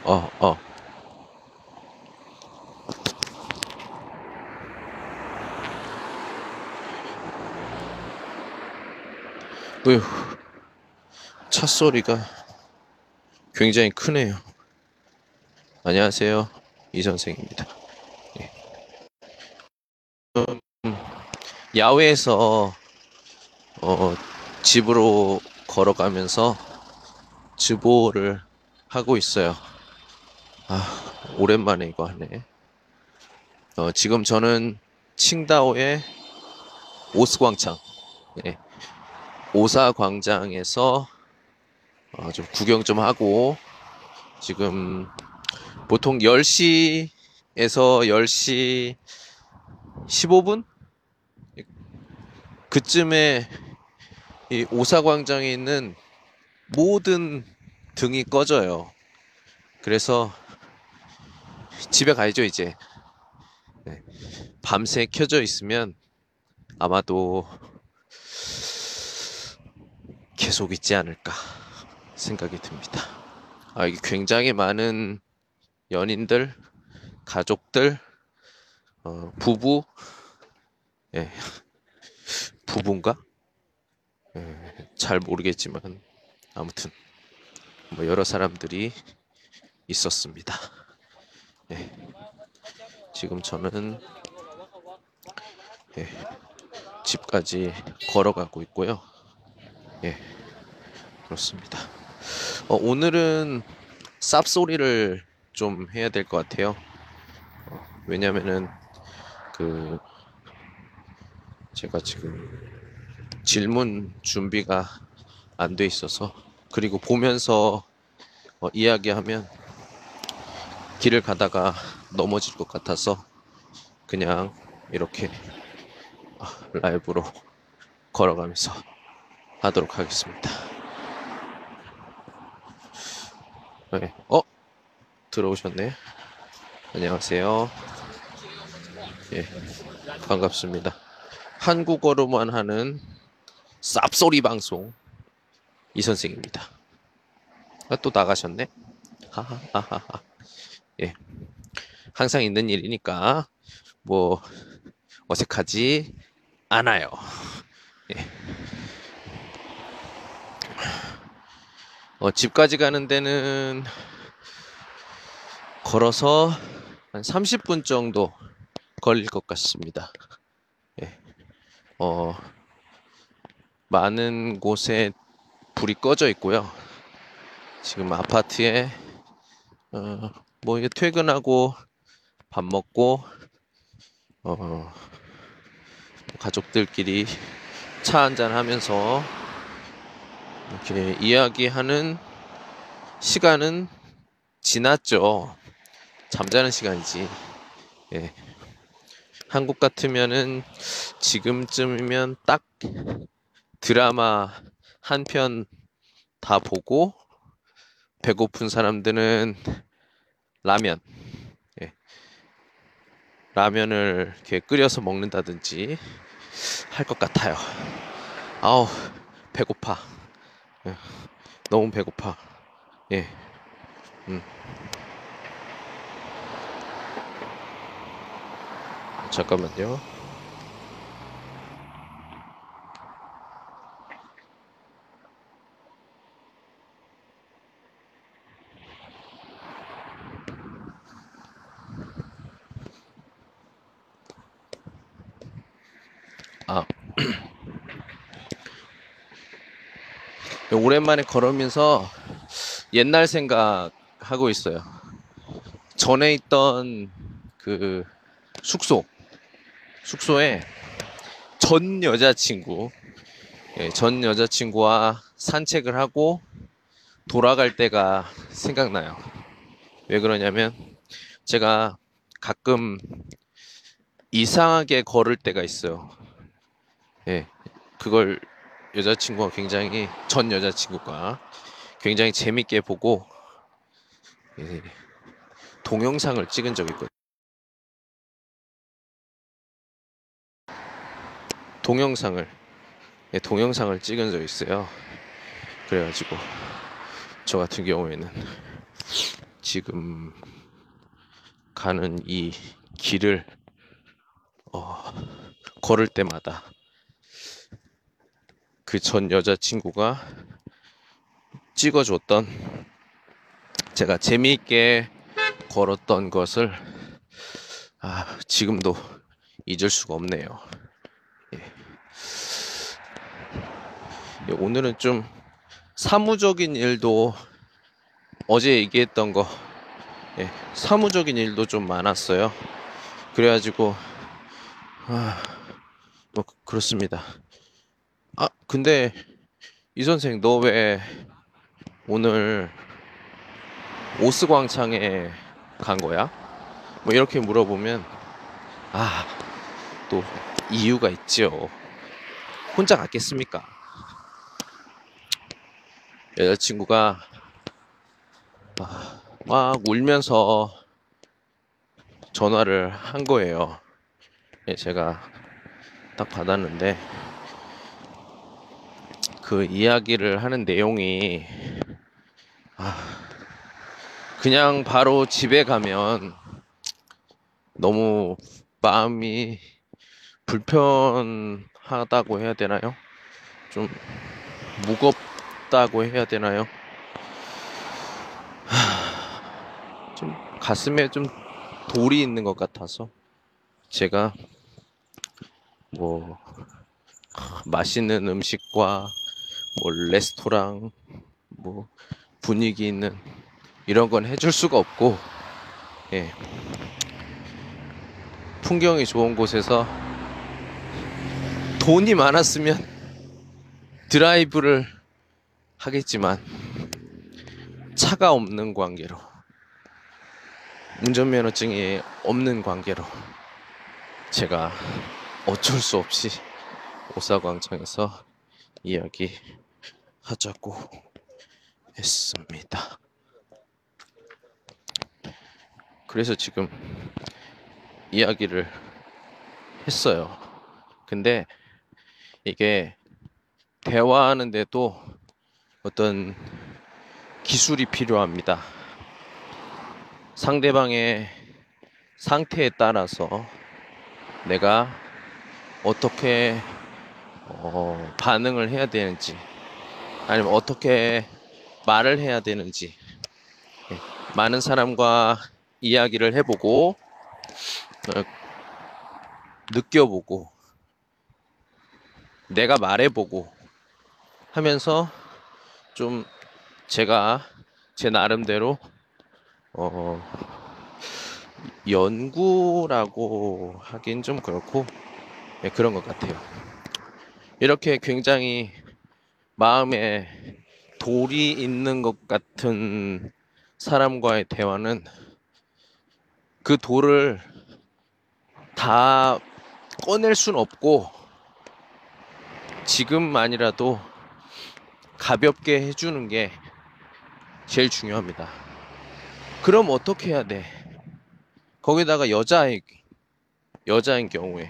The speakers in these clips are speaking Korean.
어, 어. 으휴, 차 소리가 굉장히 크네요. 안녕하세요. 이 선생입니다. 야외에서 어, 집으로 걸어가면서 즈보를 하고 있어요. 오랜만에 이거 하네. 지금 저는 칭다오의 오스광장, 예, 오사광장에서 좀 구경 좀 하고 지금 보통 10시에서 10시 15분? 그쯤에 이 오사광장에 있는 모든 등이 꺼져요. 그래서 집에 가야죠, 이제. 네. 밤새 켜져 있으면 아마도 계속 있지 않을까 생각이 듭니다. 이게 굉장히 많은 연인들, 가족들, 부부, 예, 부부인가? 잘 모르겠지만 아무튼 뭐 여러 사람들이 있었습니다. 예, 지금 저는 예, 집까지 걸어가고 있고요. 예, 그렇습니다. 오늘은 쌉소리를 좀 해야 될 것 같아요. 왜냐면은 그 제가 지금 질문 준비가 안 돼 있어서 그리고 보면서 이야기하면 길을 가다가 넘어질 것 같아서 그냥 이렇게 라이브로 걸어가면서 하도록 하겠습니다. 네. 들어오셨네. 안녕하세요. 예, 반갑습니다. 한국어로만 하는 쌉소리 방송 이 선생입니다. 또 나가셨네. 하하하하. 예, 항상 있는 일이니까 뭐 어색하지 않아요. 예. 집까지 가는 데는 걸어서 한 30분 정도 걸릴 것 같습니다. 예. 어, 많은 곳에 불이 꺼져 있고요. 지금 아파트에 뭐 이게 퇴근하고 밥 먹고 어, 가족들끼리 차 한잔 하면서 이렇게 이야기하는 시간은 지났죠. 잠자는 시간이지. 예. 한국 같으면은 지금쯤이면 딱 드라마 한 편 다 보고 배고픈 사람들은 라면, 예. 라면을 이렇게 끓여서 먹는다든지 할 것 같아요. 아우, 배고파. 예. 너무 배고파. 예. 음. 잠깐만요. 아, 오랜만에 걸으면서 옛날 생각하고 있어요. 전에 있던 그 숙소에 전 여자친구, 예, 전 여자친구와 산책을 하고 돌아갈 때가 생각나요. 왜 그러냐면 제가 가끔 이상하게 걸을 때가 있어요. 예, 그걸 전 여자친구가 굉장히 재밌게 보고 예, 동영상을 찍은 적이 있거든요. 동영상을 동영상을 찍은 적이 있어요. 그래가지고 저 같은 경우에는 지금 가는 이 길을 걸을 때마다 그 전 여자친구가 찍어줬던, 제가 재미있게 걸었던 것을 지금도 잊을 수가 없네요. 오늘은 좀 사무적인 일도, 어제 얘기했던 거, 사무적인 일도 좀 많았어요. 그래가지고 뭐 그렇습니다. 근데 이 선생, 너 왜 오늘 오스 광장에 간 거야? 뭐 이렇게 물어보면 또 이유가 있죠. 혼자 갔겠습니까? 여자친구가 막 울면서 전화를 한 거예요. 제가 딱 받았는데 그 이야기를 하는 내용이 그냥 바로 집에 가면 너무 마음이 불편하다고 해야 되나요? 좀 무겁다고 해야 되나요? 좀 가슴에 좀 돌이 있는 것 같아서 제가 뭐 맛있는 음식과 뭐 레스토랑 뭐 분위기 있는 이런 건 해줄 수가 없고, 풍경이 좋은 곳에서 돈이 많았으면 드라이브를 하겠지만 차가 없는 관계로, 운전면허증이 없는 관계로 제가 어쩔 수 없이 오사광장에서 이야기하자고 했습니다. 그래서 지금 이야기를 했어요. 근데 이게 대화하는데도 어떤 기술이 필요합니다. 상대방의 상태에 따라서 내가 어떻게 반응을 해야 되는지, 아니면 어떻게 말을 해야 되는지, 많은 사람과 이야기를 해보고 느껴보고 내가 말해보고 하면서 좀 제가 제 나름대로 연구라고 하긴 좀 그렇고 그런 것 같아요. 이렇게 굉장히 마음에 돌이 있는 것 같은 사람과의 대화는 그 돌을 다 꺼낼 순 없고 지금만이라도 가볍게 해주는 게 제일 중요합니다. 그럼 어떻게 해야 돼? 거기다가 여자인 경우에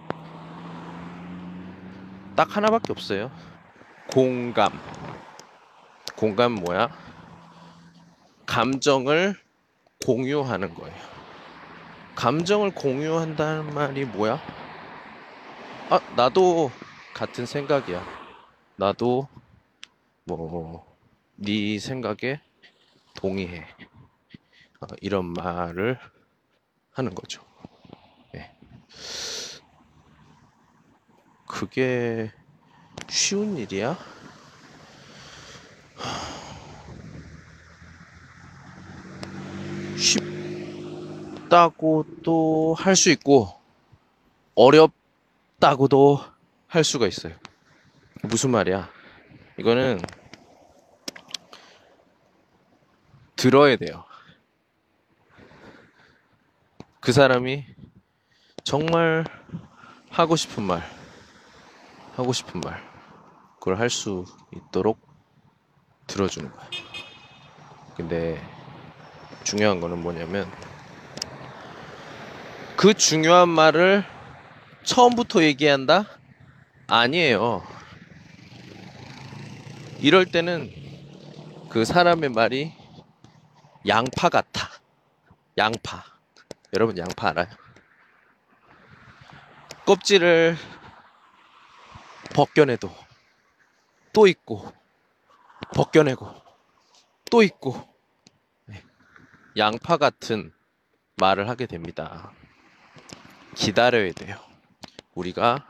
딱 하나밖에 없어요. 공감. 공감 뭐야? 감정을 공유하는 거예요. 감정을 공유한다는 말이 뭐야? 나도 같은 생각이야. 나도 네 생각에 동의해. 이런 말을 하는 거죠. 그게 쉬운 일이야? 쉽다고도 할 수 있고 어렵다고도 할 수가 있어요. 무슨 말이야? 이거는 들어야 돼요. 그 사람이 정말 하고 싶은 말, 그걸 할 수 있도록 들어주는 거야. 근데 중요한 거는 뭐냐면 그 중요한 말을 처음부터 얘기한다? 아니에요. 이럴 때는 그 사람의 말이 양파 같아. 양파. 여러분 양파 알아요? 껍질을 벗겨내도 또 있고 벗겨내고 또 있고 양파 같은 말을 하게 됩니다. 기다려야 돼요. 우리가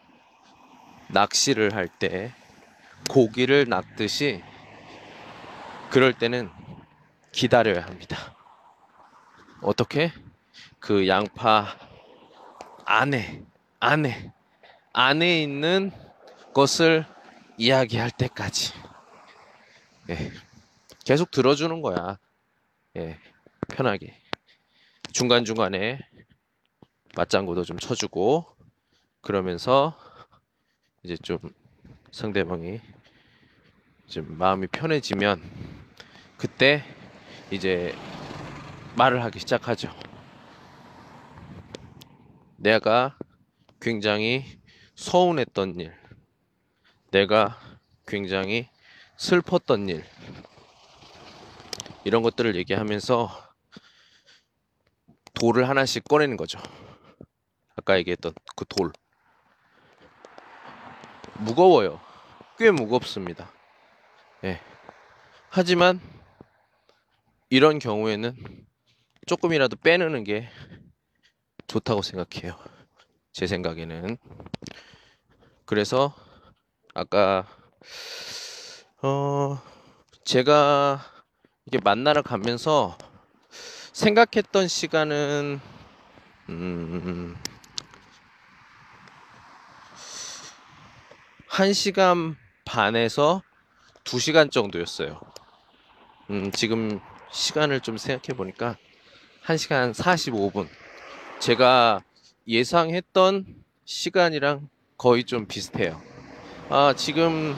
낚시를 할 때 고기를 낚듯이 그럴 때는 기다려야 합니다. 어떻게? 그 양파 안에 안에 안에 있는 것을 이야기할 때까지 예, 계속 들어주는 거야. 예, 편하게 중간중간에 맞장구도 좀 쳐주고 그러면서 이제 좀 상대방이 좀 마음이 편해지면 그때 이제 말을 하기 시작하죠. 내가 굉장히 서운했던 일, 내가 굉장히 슬펐던 일, 이런 것들을 얘기하면서 돌을 하나씩 꺼내는 거죠. 아까 얘기했던 그 돌. 무거워요. 꽤 무겁습니다. 예. 하지만 이런 경우에는 조금이라도 빼내는 게 좋다고 생각해요. 제 생각에는. 그래서 아까 제가 이게 만나러 가면서 생각했던 시간은 1시간 반에서 2시간 정도였어요. 지금 시간을 좀 생각해 보니까 1시간 45분. 제가 예상했던 시간이랑 거의 좀 비슷해요. 지금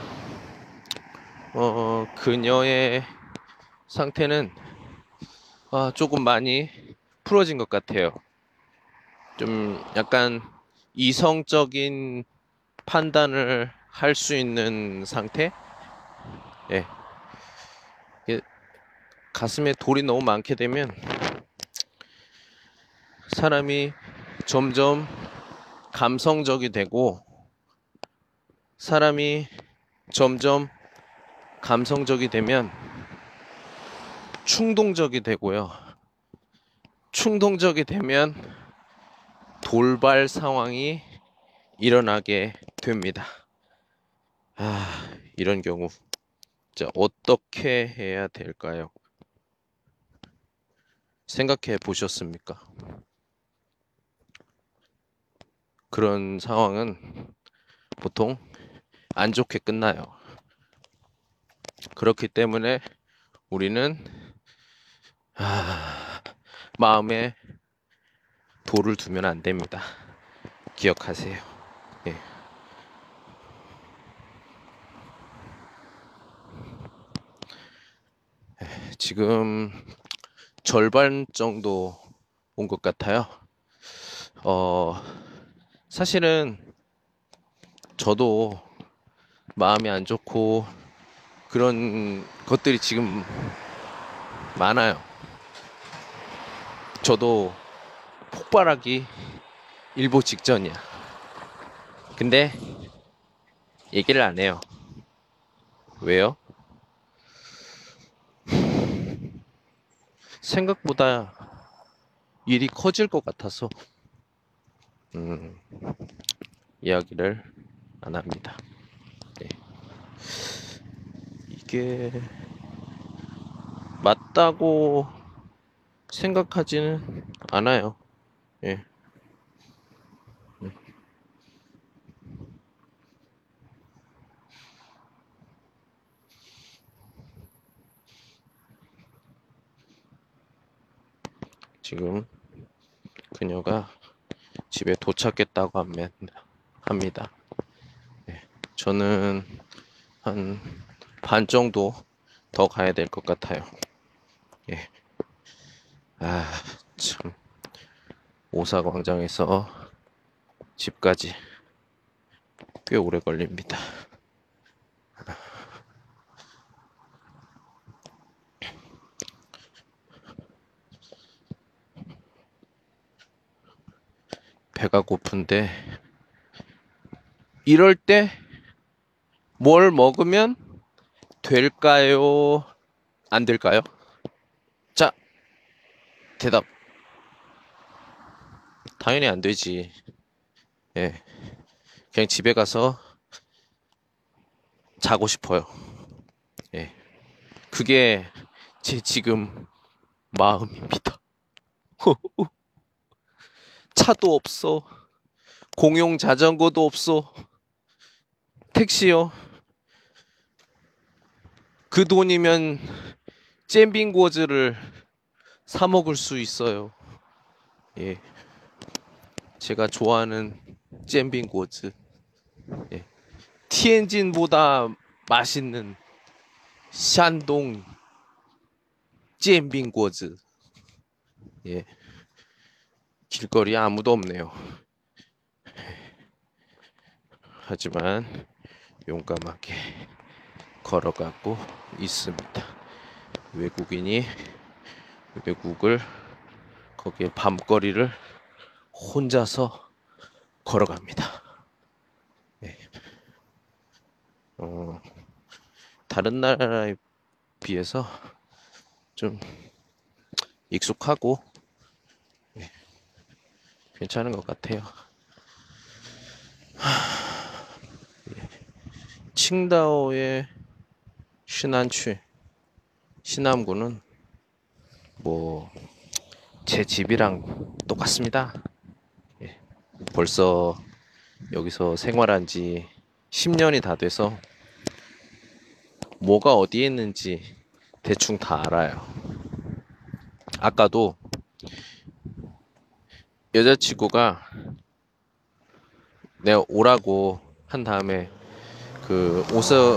그녀의 상태는 조금 많이 풀어진 것 같아요. 좀 약간 이성적인 판단을 할 수 있는 상태? 예. 가슴에 돌이 너무 많게 되면 사람이 점점 감성적이 되고 사람이 점점 감성적이 되면 충동적이 되고요. 충동적이 되면 돌발 상황이 일어나게 됩니다. 이런 경우 자, 어떻게 해야 될까요? 생각해 보셨습니까? 그런 상황은 보통 안 좋게 끝나요. 그렇기 때문에 우리는 마음에 돌을 두면 안 됩니다. 기억하세요. 예. 지금 절반 정도 온 것 같아요. 사실은 저도 마음이 안 좋고 그런 것들이 지금 많아요. 저도 폭발하기 일보 직전이야. 근데 얘기를 안 해요. 왜요? 생각보다 일이 커질 것 같아서 이야기를 안 합니다. 네. 이게 맞다고 생각하지는 않아요. 예. 지금 그녀가 집에 도착했다고 합니다. 예. 저는 한 반 정도 더 가야 될 것 같아요. 예. 참. 오사광장에서 집까지 꽤 오래 걸립니다. 배가 고픈데 이럴 때 뭘 먹으면 될까요? 안 될까요? 자, 대답. 당연히 안 되지. 예. 그냥 집에 가서 자고 싶어요. 예. 그게 제 지금 마음입니다. 차도 없어. 공용 자전거도 없어. 택시요. 그 돈이면 잼빙고즈를 사 먹을 수 있어요. 예. 제가 좋아하는 잼빙고즈. 예. 티엔진보다 맛있는 샨동 잼빙고즈. 예. 길거리에 아무도 없네요. 하지만 용감하게 걸어가고 있습니다. 외국인이 외국을 거기에 밤거리를 혼자서 걸어갑니다. 네. 다른 나라에 비해서 좀 익숙하고 네, 괜찮은 것 같아요. 칭다오의 시난区, 시남구는 뭐 제 집이랑 똑같습니다. 예, 벌써 여기서 생활한 지 10년이 다 돼서 뭐가 어디에 있는지 대충 다 알아요. 아까도 여자친구가 내가 오라고 한 다음에 그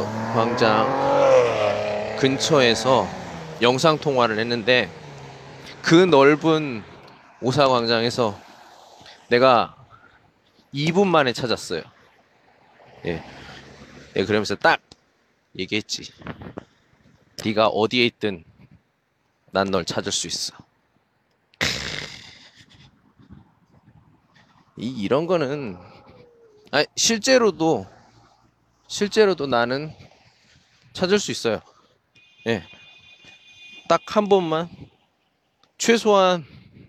오서광장 근처에서 영상 통화를 했는데 그 넓은 오사광장에서 내가 2분 만에 찾았어요. 예. 예, 그러면서 딱 얘기했지. 네가 어디에 있든 난 널 찾을 수 있어. 이런 거는 실제로도 나는 찾을 수 있어요. 예. 딱 한 번만 최소한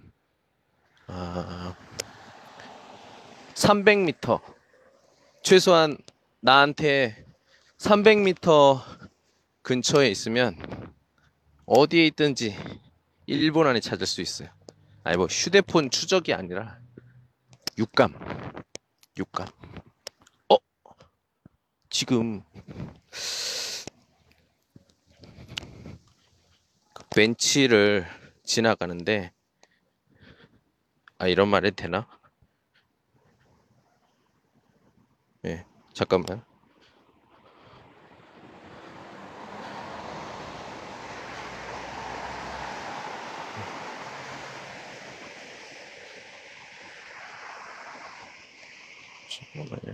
300m 최소한 나한테 300m 근처에 있으면 어디에 있든지 1분 안에 찾을 수 있어요. 아니 뭐 휴대폰 추적이 아니라 육감. 육감. 어? 지금 벤치를 지나가는데 이런 말 해도 되나? 예. 잠깐만. 잠깐만요.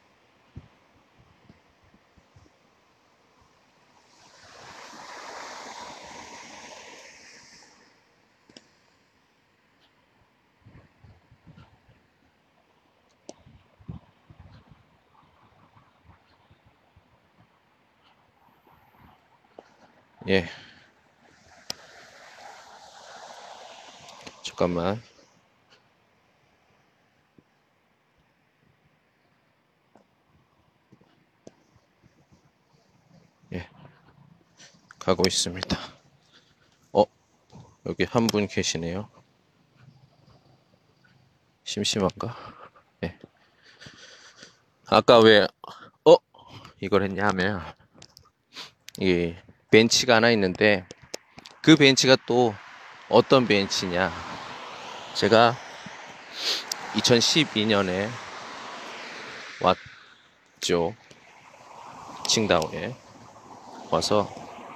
예. 잠깐만. 예. 가고 있습니다. 여기 한 분 계시네요. 심심한가? 예. 아까 왜 이걸 했냐 하면 이게 벤치가 하나 있는데 그 벤치가 또 어떤 벤치냐? 제가 2012년에 왔죠. 칭다오에 와서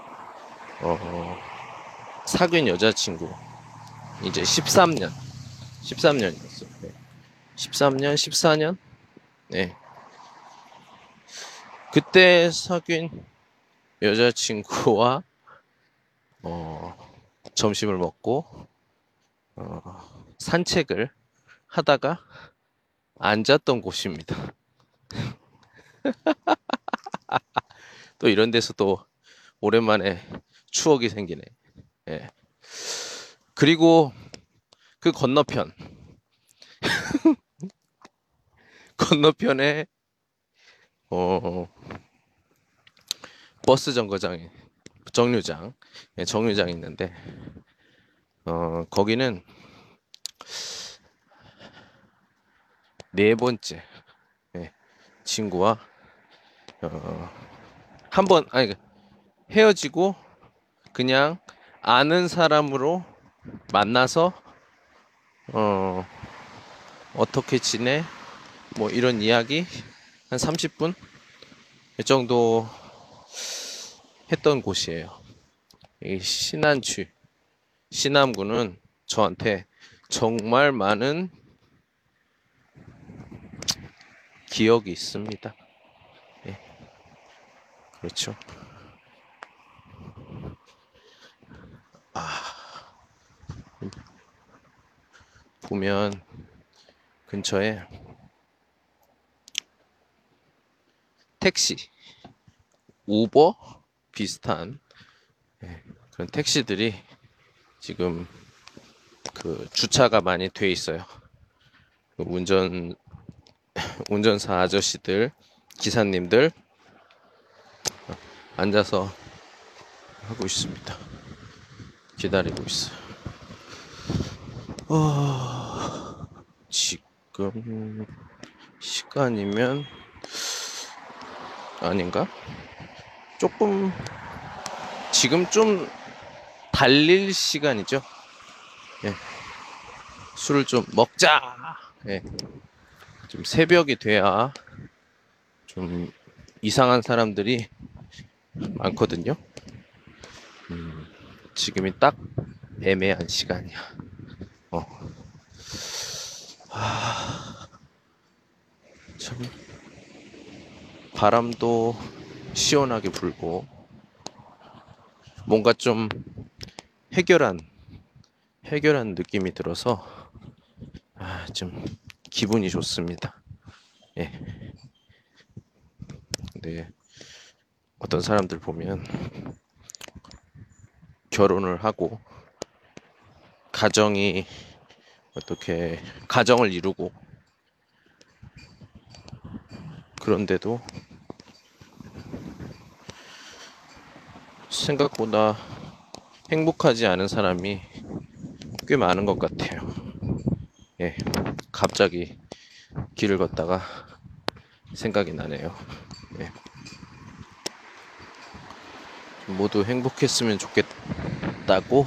사귄 여자친구 이제 13년이었어요. 네. 13년, 14년? 네. 그때 사귄 여자친구와 점심을 먹고 산책을 하다가 앉았던 곳입니다. 또 이런 데서 또 오랜만에 추억이 생기네. 예. 그리고 그 건너편에 어, 버스 정류장, 예, 정류장 있는데 거기는 네 번째, 예, 친구와 한 번 아니 헤어지고 그냥 아는 사람으로 만나서 어, 어떻게 지내? 뭐 이런 이야기 한 30분 정도 했던 곳이에요. 이 신암구는 저한테 정말 많은 기억이 있습니다. 예, 그렇죠. 보면 근처에 택시, 우버 비슷한 그런 택시들이 지금 그 주차가 많이 돼 있어요. 그 운전사 아저씨들, 기사님들 앉아서 하고 있습니다. 기다리고 있어요. 지금 시간이면 아닌가? 조금 지금 좀 달릴 시간이죠. 예. 술을 좀 먹자. 예. 좀 새벽이 돼야 좀 이상한 사람들이 많거든요. 지금이 딱 애매한 시간이야. 어. 참 바람도 시원하게 불고 뭔가 좀 해결한 느낌이 들어서 좀 기분이 좋습니다. 예. 근데 어떤 사람들 보면 결혼을 하고 어떻게 가정을 이루고 그런데도 생각보다 행복하지 않은 사람이 꽤 많은 것 같아요. 예, 갑자기 길을 걷다가 생각이 나네요. 예. 모두 행복했으면 좋겠다고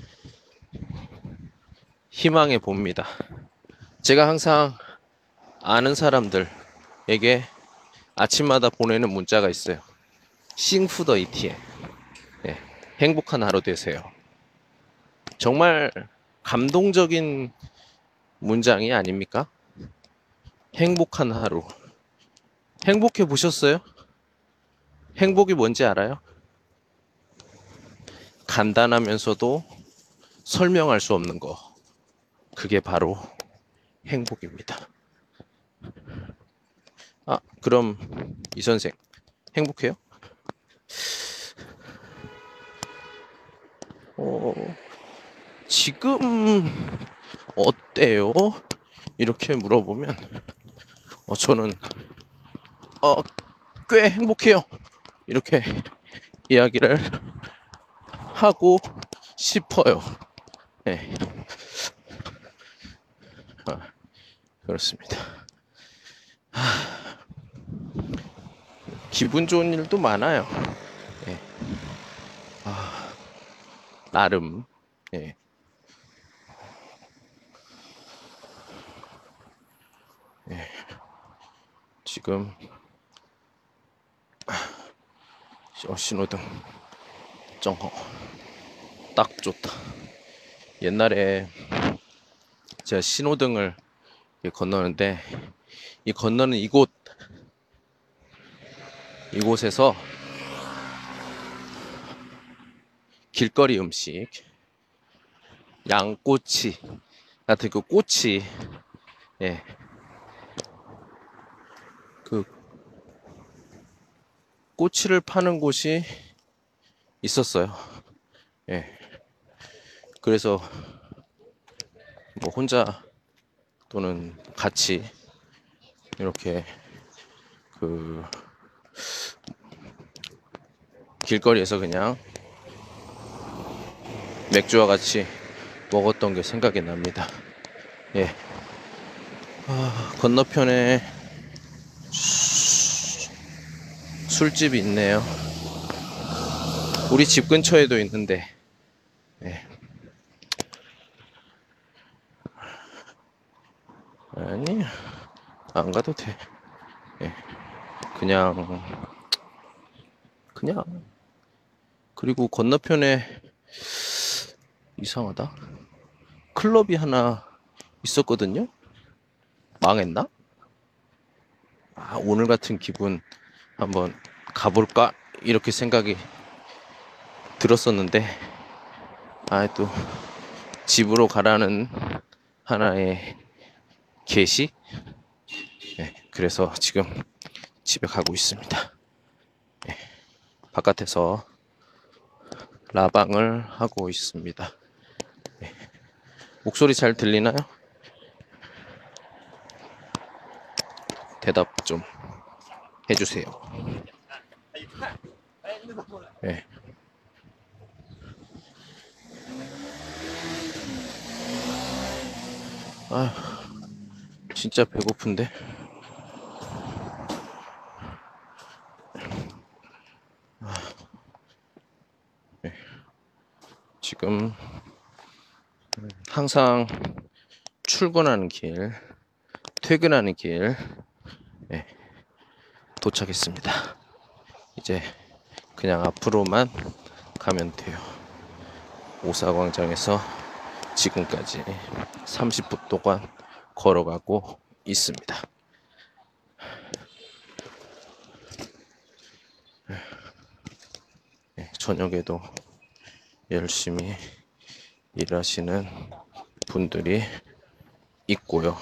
희망해 봅니다. 제가 항상 아는 사람들에게 아침마다 보내는 문자가 있어요. 싱푸더 이티에. 예, 행복한 하루 되세요. 정말 감동적인 문장이 아닙니까? 행복한 하루. 행복해 보셨어요? 행복이 뭔지 알아요? 간단하면서도 설명할 수 없는 거. 그게 바로 행복입니다. 그럼 이 선생 행복해요? 지금 어때요? 이렇게 물어보면 저는 꽤 행복해요. 이렇게 이야기를 하고 싶어요. 네. 그렇습니다. 기분 좋은 일도 많아요. 네. 나름. 네. 네. 지금 신호등 정호 딱 좋다. 옛날에 제가 신호등을 건너는데 이 건너는 이곳에서 길거리 음식 양꼬치 같은 그 꼬치, 예, 그 꼬치를 파는 곳이 있었어요. 예. 그래서 뭐 혼자 또는 같이 이렇게 그 길거리에서 그냥 맥주와 같이 먹었던 게 생각이 납니다. 예. 건너편에 술집이 있네요. 우리 집 근처에도 있는데, 예. 아니, 안 가도 돼. 예. 그냥, 그리고 건너편에 이상하다. 클럽이 하나 있었거든요? 망했나? 오늘 같은 기분 한번 가볼까? 이렇게 생각이 들었었는데, 또 집으로 가라는 하나의 계시? 네, 그래서 지금 집에 가고 있습니다. 네, 바깥에서 라방을 하고 있습니다. 네, 목소리 잘 들리나요? 대답 좀 해주세요. 네. 진짜 배고픈데. 네. 지금 항상 출근하는 길, 퇴근하는 길, 네, 도착했습니다. 이제 그냥 앞으로만 가면 돼요. 오사광장에서 지금까지 30분 동안 걸어가고 있습니다. 저녁에도 열심히 일하시는 분들이 있고요.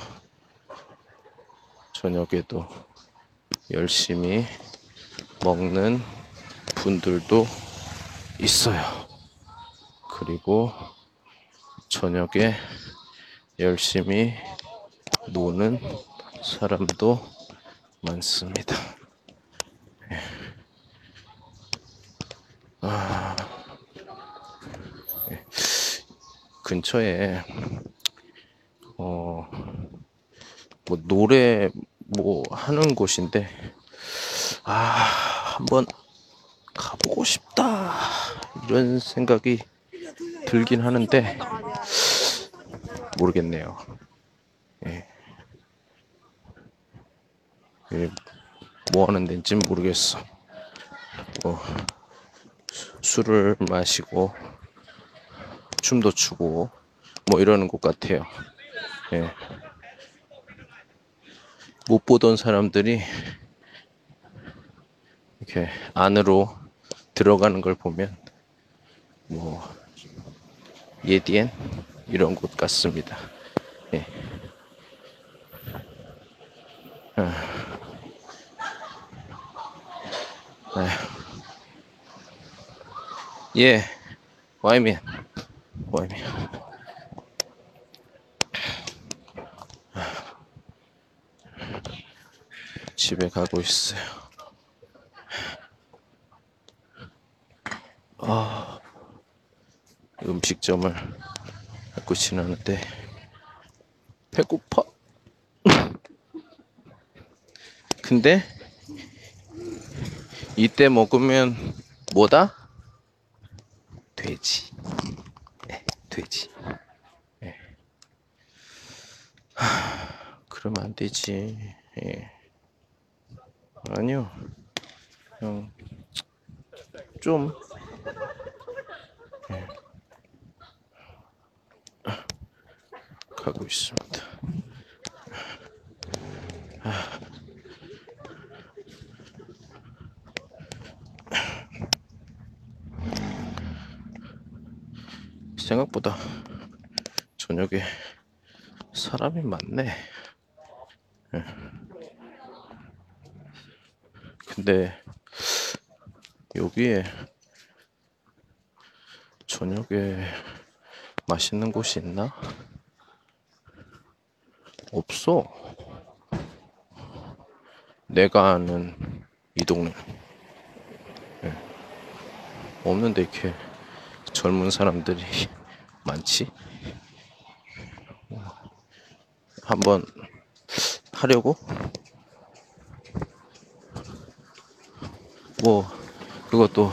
저녁에도 열심히 먹는 분들도 있어요. 그리고 저녁에 열심히 노는 사람도 많습니다. 근처에 뭐 노래 뭐 하는 곳인데 한번 가보고 싶다 이런 생각이 들긴 하는데 모르겠네요. 예. 뭐 하는 데인지 모르겠어. 술을 마시고 춤도 추고 뭐 이러는 것 같아요. 예. 못 보던 사람들이 이렇게 안으로 들어가는 걸 보면 뭐 예디엔 이런 곳 같습니다. 예. 예, 와이면 집에 가고 있어요. 음식점을 갖고 지나는데 배고파. 근데 이때 먹으면 뭐다? 돼지. 네, 돼지. 네. 그러면 안 되지. 예. 아니요. 그냥 좀 가고 있습니다. 생각보다 저녁에 사람이 많네. 근데 여기에 저녁에 맛있는 곳이 있나? 없어. 내가 아는 이 동네 없는데 이렇게 젊은 사람들이 많지? 한번 하려고? 뭐 그것도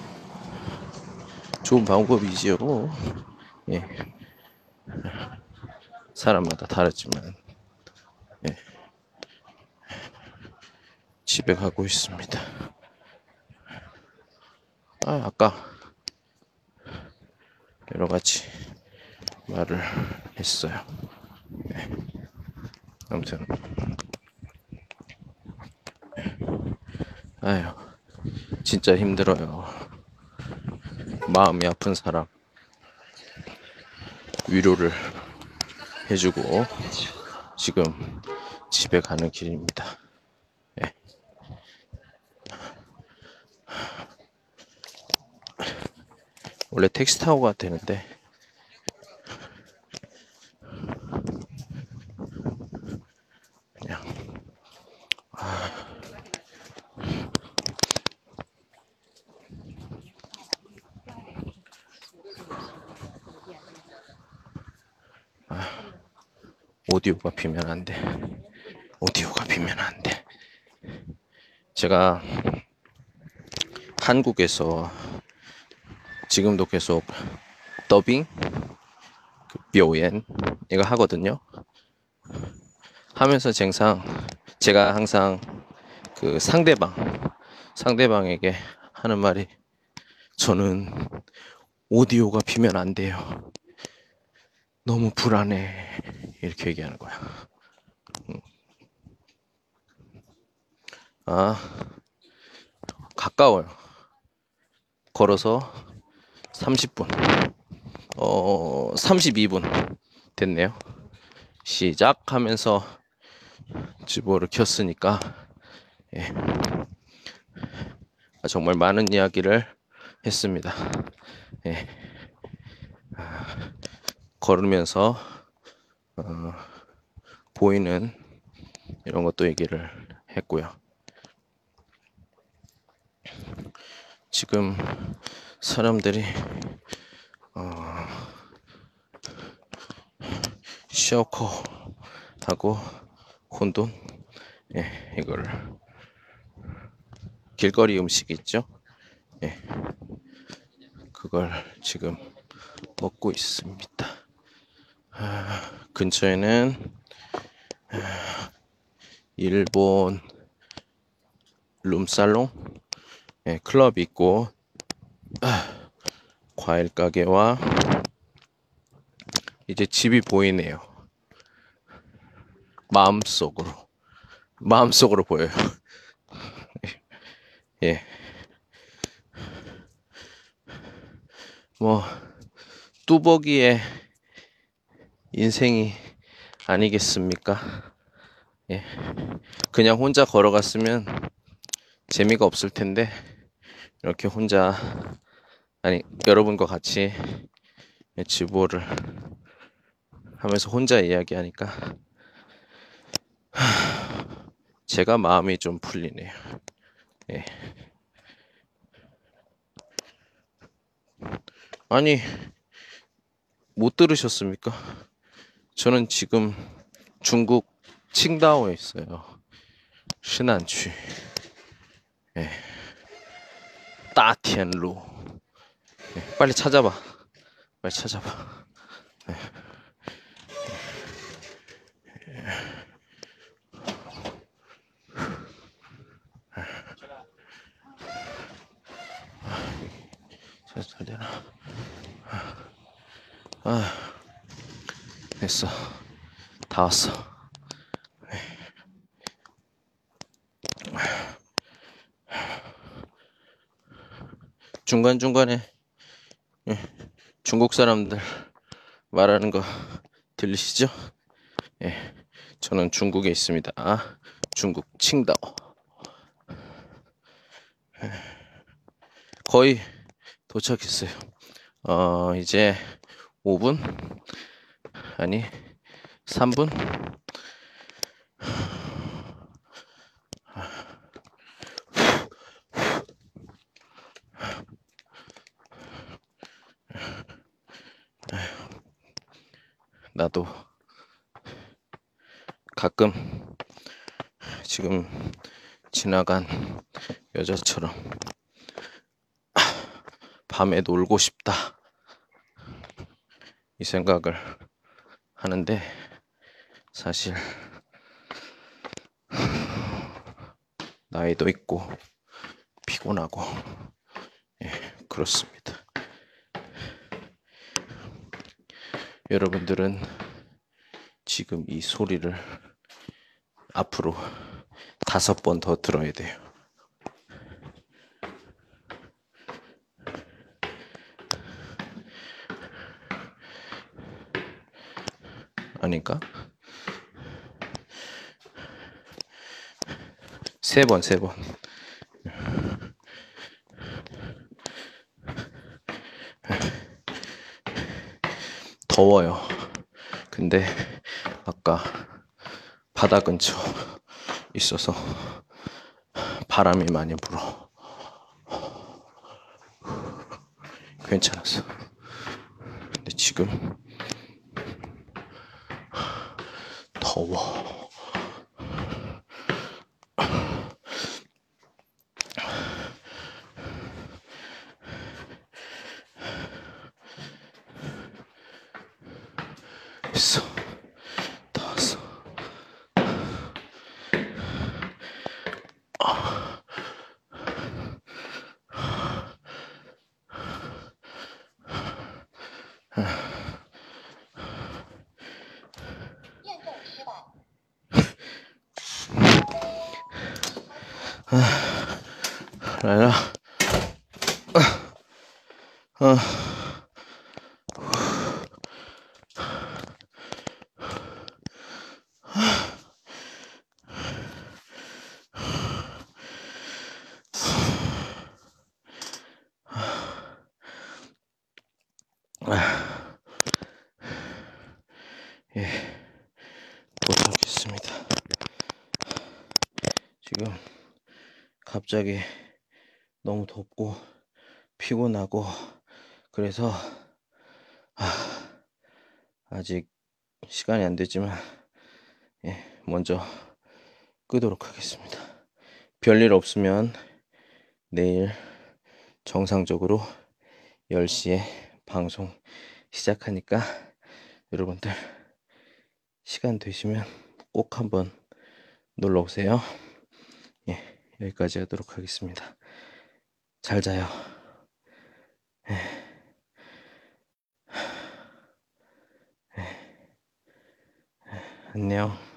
좋은 방법이지요. 예, 사람마다 다르지만 예, 집에 가고 있습니다. 아까 여러 가지 말을 했어요. 예, 아무튼 아유 진짜 힘들어요. 마음이 아픈 사람 위로를 해주고 지금 집에 가는 길입니다. 예. 원래 택시 타고 가야 되는데 그냥 오디오가 비면 안 돼. 오디오가 비면 안 돼. 제가 한국에서 지금도 계속 더빙, 묘연 이거 하거든요. 하면서 제가 항상 그 상대방에게 하는 말이 저는 오디오가 비면 안 돼요. 너무 불안해. 이렇게 얘기하는 거야. 아, 가까워요. 걸어서 30분. 32분 됐네요. 시작하면서 지보를 켰으니까 예. 정말 많은 이야기를 했습니다. 예. 걸으면서 보이는 이런 것도 얘기를 했고요. 지금 사람들이 샤오코하고 혼돈 이걸 길거리 음식 있죠? 예. 그걸 지금 먹고 있습니다. 근처에는 일본 룸살롱 클럽이 있고 과일 가게와 이제 집이 보이네요. 마음속으로 보여요. 예. 뭐 뚜벅이의 인생이 아니겠습니까? 예. 그냥 혼자 걸어갔으면 재미가 없을 텐데 이렇게 혼자 여러분과 같이 지보를 하면서 혼자 이야기하니까 제가 마음이 좀 풀리네요. 예. 아니 못 들으셨습니까? 저는 지금 중국 칭다오에 있어요. 신안취. 예. 따티엔루. 예. 빨리 찾아봐. 예. 잘 되나? 됐어. 다 왔어. 중간중간에 중국 사람들 말하는 거 들리시죠? 예, 저는 중국에 있습니다. 중국 칭다오. 거의 도착했어요. 이제 5분? 아니, 3분? 나도 가끔 지금 지나간 여자처럼 밤에 놀고 싶다 이 생각을 하는데 사실 나이도 있고 피곤하고 그렇습니다. 여러분들은 지금 이 소리를 앞으로 5번 더 들어야 돼요. 아닌가? 3번. 더워요. 근데 아까 바다 근처 있어서 바람이 많이 불어. 괜찮았어. 근데 지금 더워. 있어. 더웠어.来了，예, 도착했습니다. 지금 갑자기 너무 덥고 피곤하고 그래서 아직 시간이 안 됐지만 먼저 끄도록 하겠습니다. 별일 없으면 내일 정상적으로 10시에 방송 시작하니까 여러분들 시간 되시면 꼭 한번 놀러 오세요. 여기까지 하도록 하겠습니다. 잘 자요. 안녕.